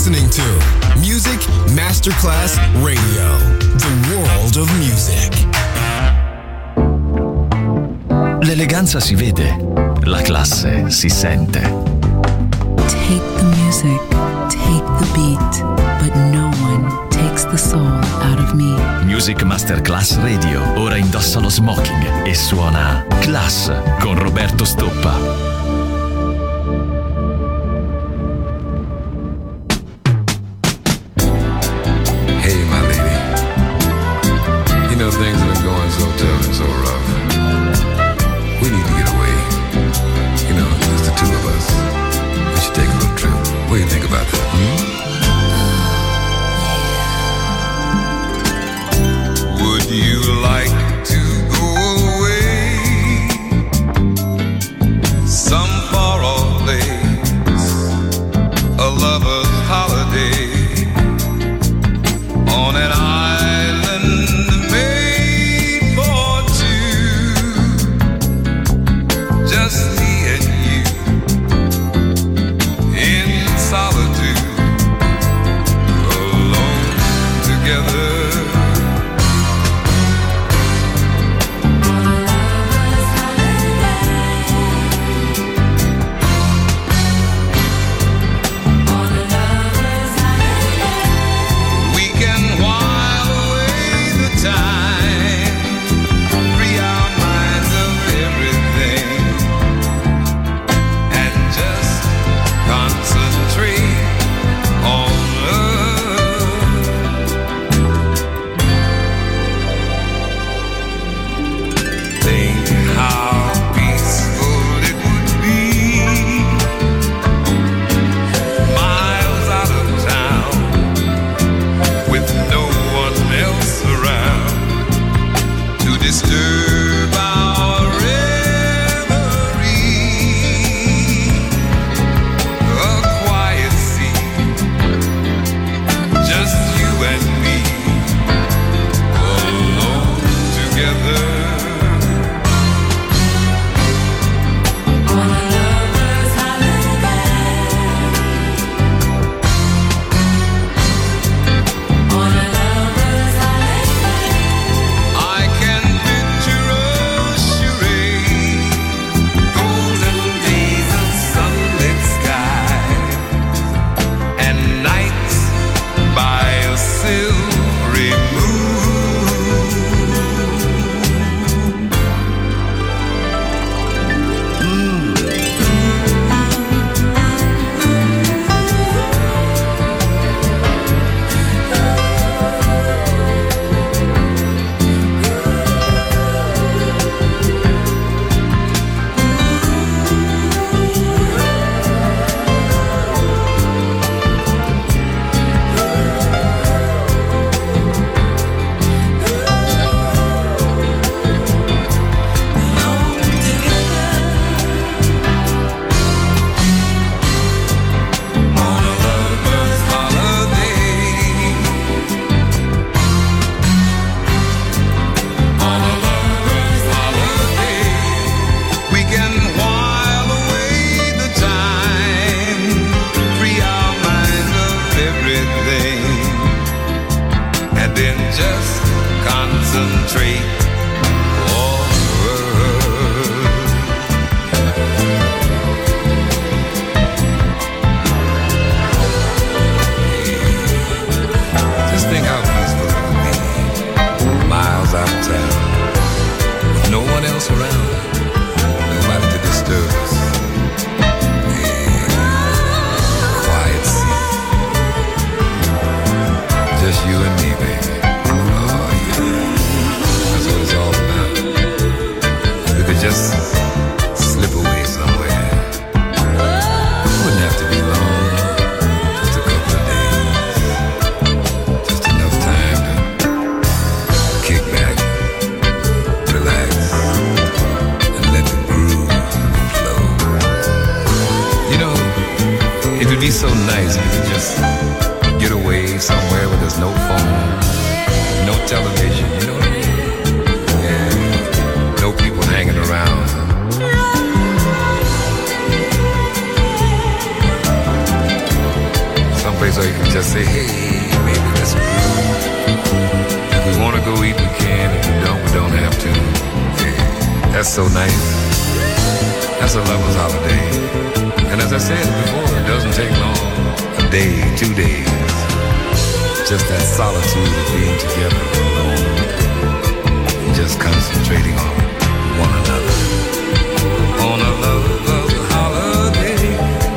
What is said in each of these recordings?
listening to Music Masterclass Radio, the world of music. L'eleganza si vede, la classe si sente. Take the music, take the beat, but no one takes the soul out of me. Music Masterclass Radio ora indossa lo smoking e suona Class con Roberto Stoppa. Things have been going so tough and so rough. We need to get away. You know, just the two of us. We should take a little trip. What do you think about that? Would you like to go away? Some far off place, a lover's holiday on an island. Just me and you in solitude, alone together. We can while away the time, free our minds of everything. Concentrate on love. Think how peaceful it would be, miles out of town, with no one else around to disturb our reverie. Just you and me, alone together. On a lover's holiday. On a lover's holiday. I can picture a charade, golden days of sunlit skies, and nights by a silvery moon. Just concentrate on love. Just think how peaceful it would be, miles out of town, with no one else around, nobody to disturb us. Quiet sea, just you and me, baby. Just slip away somewhere. Wouldn't have to be long, just a couple of days. Just enough time to kick back, relax, and let the groove flow. You know, it would be so nice if you could just get away somewhere where there's no phone, no television, you know what I mean? No people hanging around. Some place where you can just say, hey, baby, let's move. If we want to go eat, we can. If we don't have to. Hey, that's so nice. That's a lover's holiday. And as I said before, it doesn't take long. A day, 2 days. Just that solitude of being together alone. Just concentrating on one another. On a lover's holiday.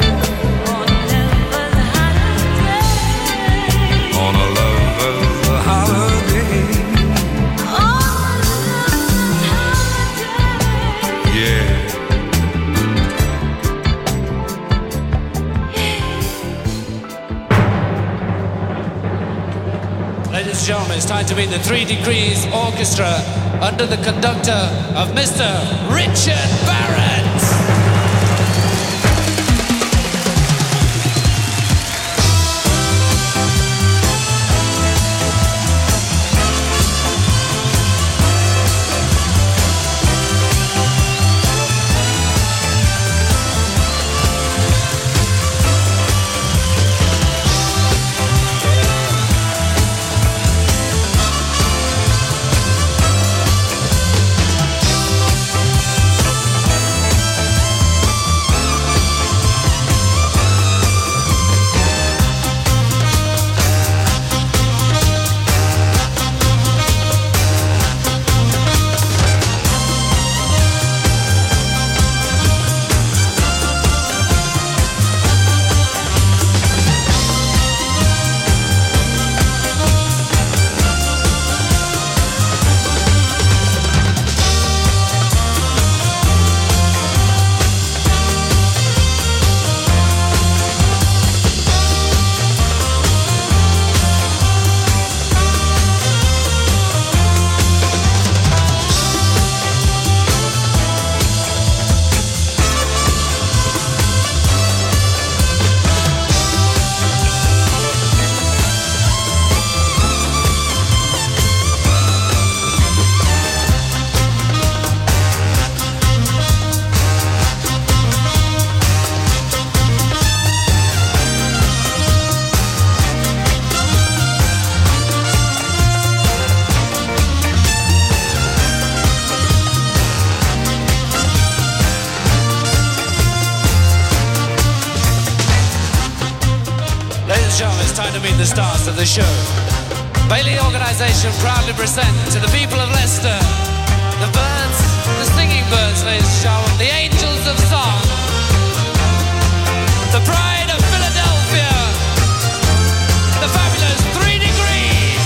On a lover's holiday. Yeah. Ladies and gentlemen, it's time to meet the 3 Degrees Orchestra under the conductor of Mr. Richard Barrett. The stars of the show. Bailey Organisation proudly present to the people of Leicester the birds, the singing birds, ladies and gentlemen, the angels of song, the pride of Philadelphia, the fabulous 3 Degrees.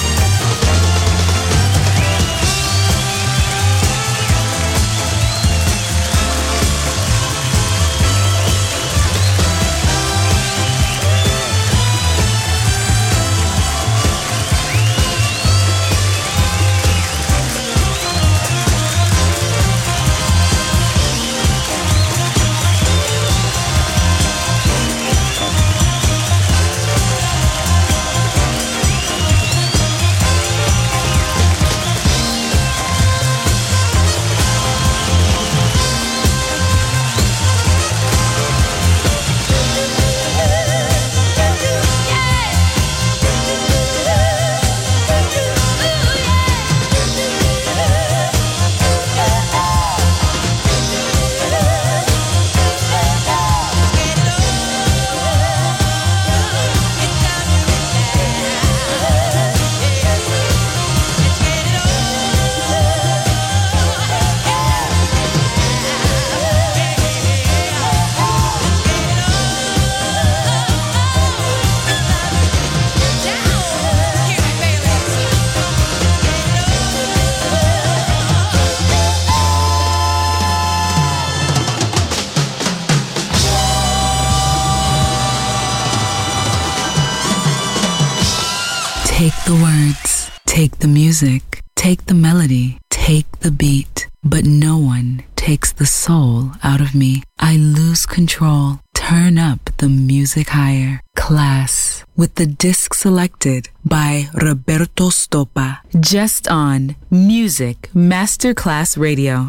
Take the words, take the music, take the melody, take the beat, but no one takes the soul out of me. I lose control. Turn up the music higher. Class with the disc selected by Roberto Stoppa. Just on Music Masterclass Radio.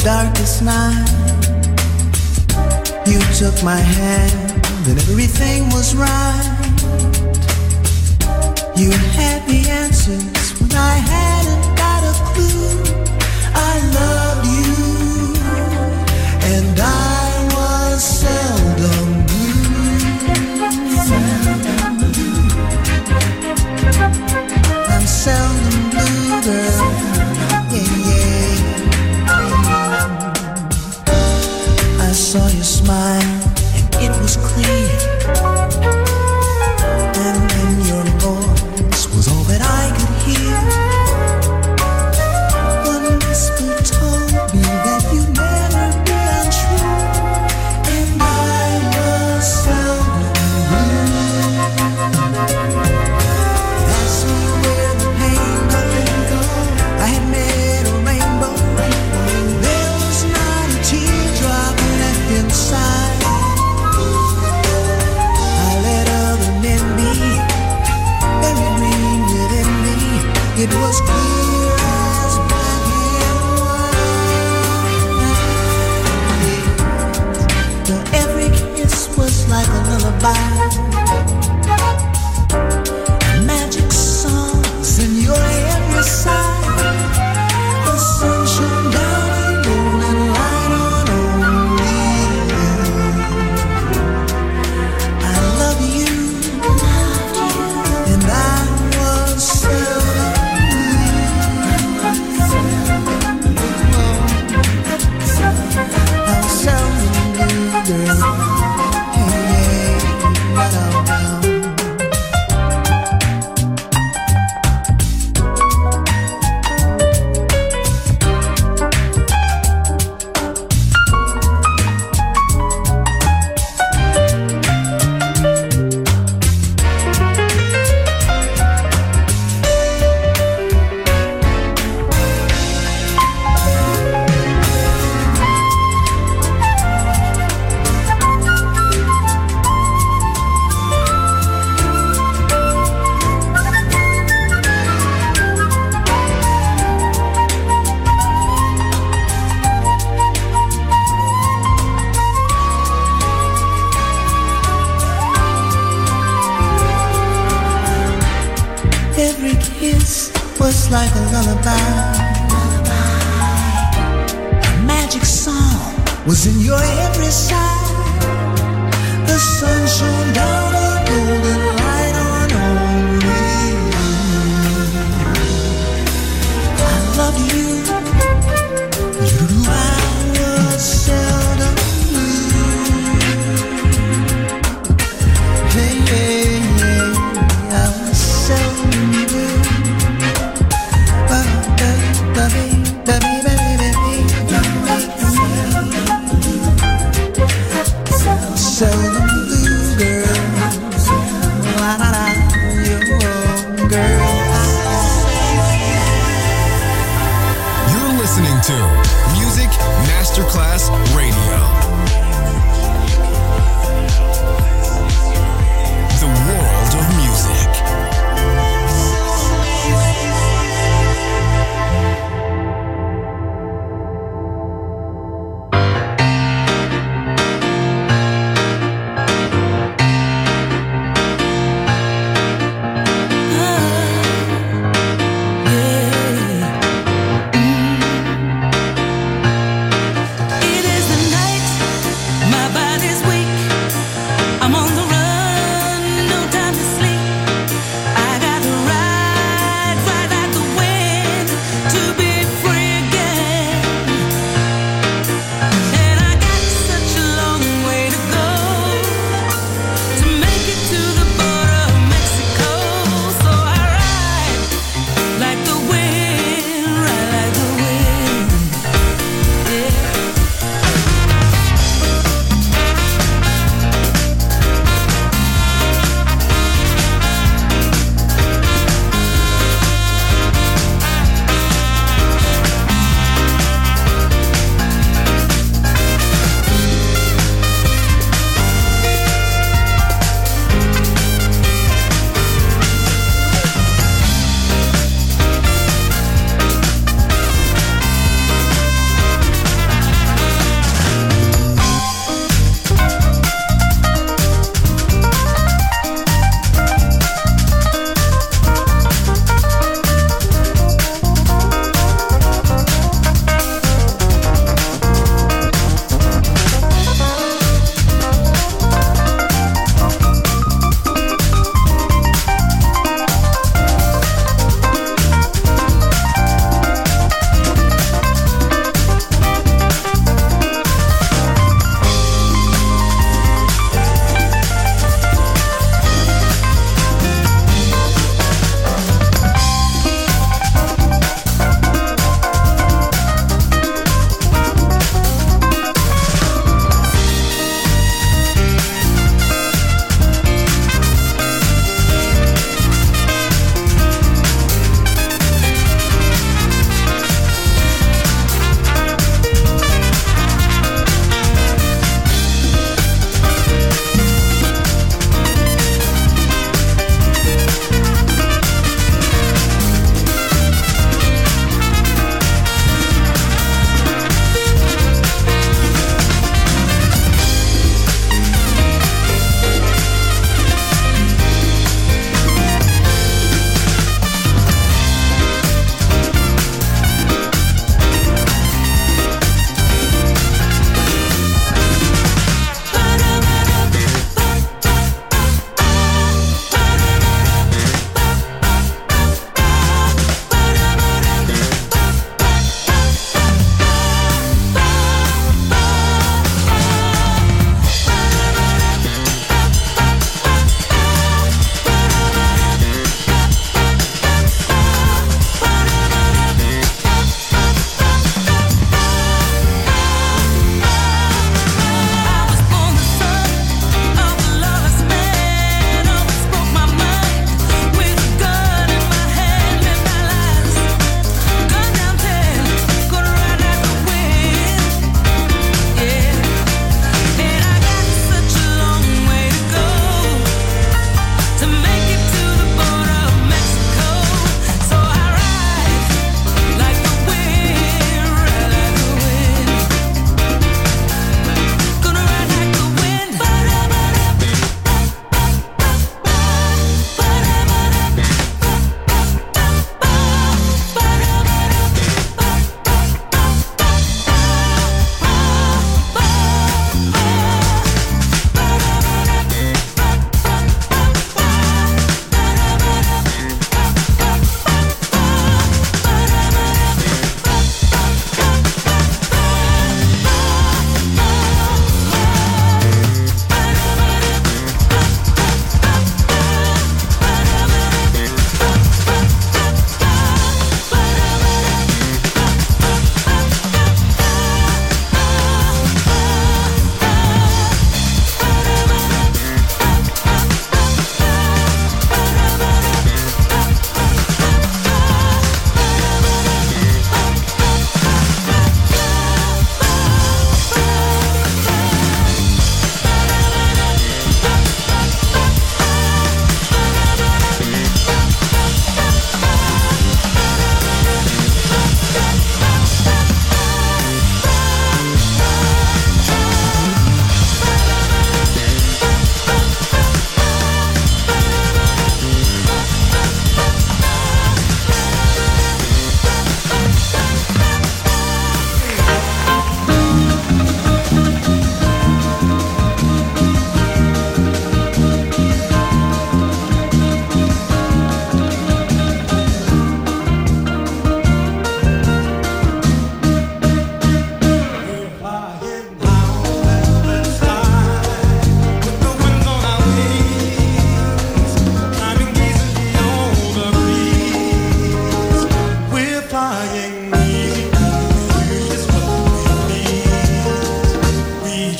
darkest night. You took my hand and everything was right. You had the answers when I hadn't got a clue. I loved you and I was seldom blue. I'm seldom blue, girl. Yeah, yeah. I saw you smile and it was clear, and then your voice was all that I could hear. One whisper told me that you'd never be untrue, and I was seldom blue. Ask me where the pain goes. I had met a rainbow. There was not a teardrop left inside. I let other men be, very green within me. It was clear as black and white. Your every kiss was like a lullaby. Magic songs in your every sigh. The sun shone down a golden light on only you. I love you, and I was seldom blue. I was seldom blue, girl. Hey, hey, every kiss was like a lullaby. A magic song was in your every sigh. The sun shone down a golden light on only you. I love you. I was seldom blue. Hey, hey, hey. I was seldom blue. Seldom blue, girl. La, la, la, you girl. You're listening to Music Masterclass Radio. The world of music. It is the night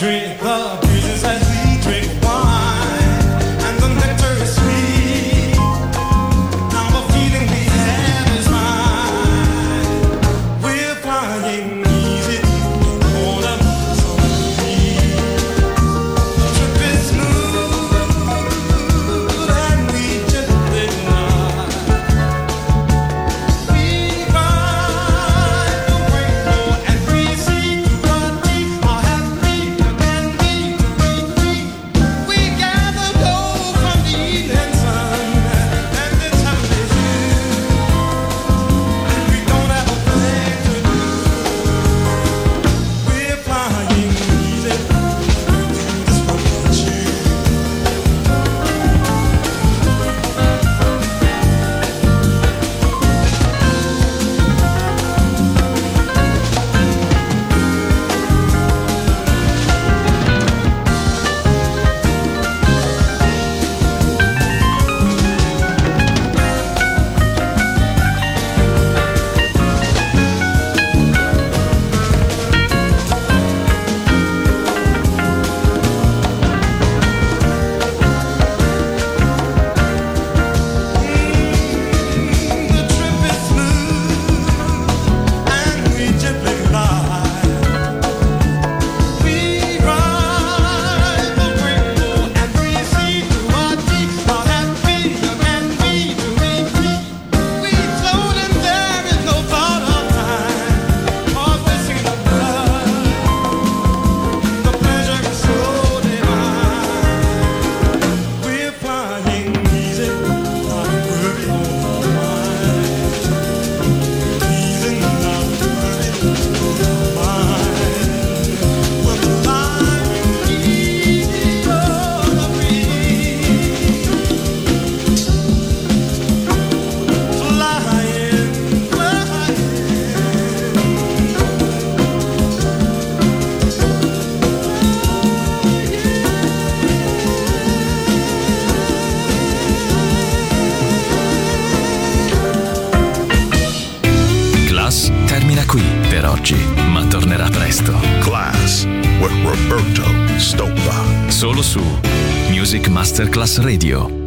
drink the breezes as we drink wine, and the nectar is sweet. Now the feeling we have is mine. We're flying easy on a summer breeze. The trip is smooth and we gently glide. We ride the rainbow and we see through the deep. Our happy and we we gather gold from the evening sun, and the time is here. We don't have a thing to do. We're flying easy through this world you. The trip is smooth and we gently glide. We ride the rainbow and we see through our deep. Our happy and we float and there is no thought of time. Cause we're singing the blood. The pleasure is so divine. We're flying easy, not worried on mine. Easy, not worried on mine. We're flying easy on the breeze. Class termina qui per oggi, ma tornerà presto. Class with Roberto Stoppa. Solo su Music Masterclass Radio.